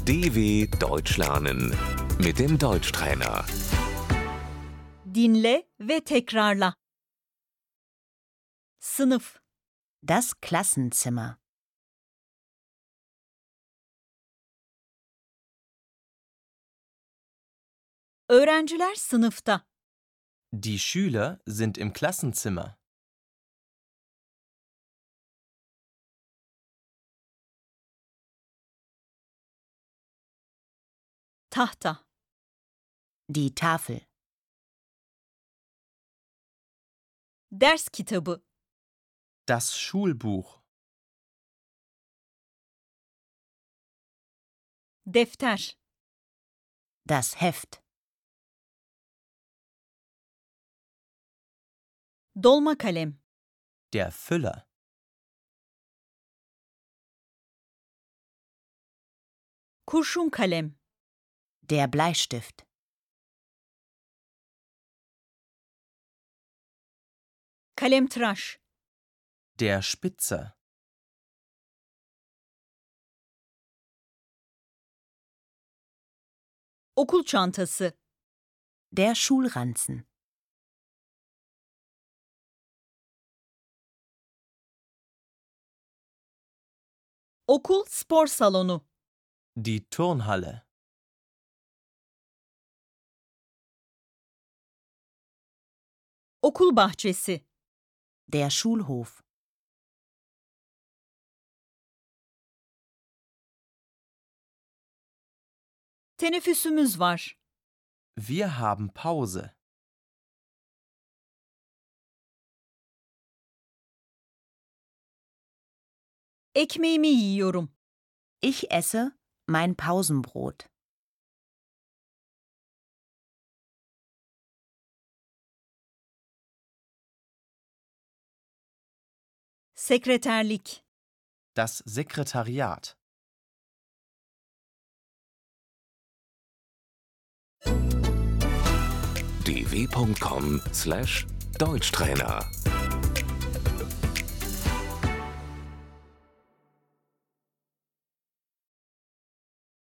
DW Deutsch lernen mit dem Deutschtrainer. Dinle ve tekrarla. Sınıf, Das Klassenzimmer. öğrenciler sınıfta. Die Schüler sind im Klassenzimmer. Tahta, Die Tafel. ders kitabı, Das Schulbuch. defter, Das Heft. dolma kalem, Der Füller. kurşun kalem, Der Bleistift. kalemtıraş, Der Spitzer. okul çantası, Der Schulranzen. okul spor salonu, Die Turnhalle. okul bahçesi, Der Schulhof. teneffüsümüz var. Wir haben Pause. Ekmeğimi yiyorum. Ich esse mein Pausenbrot. Sekreterlik, Das Sekretariat. dw.com/Deutschtrainer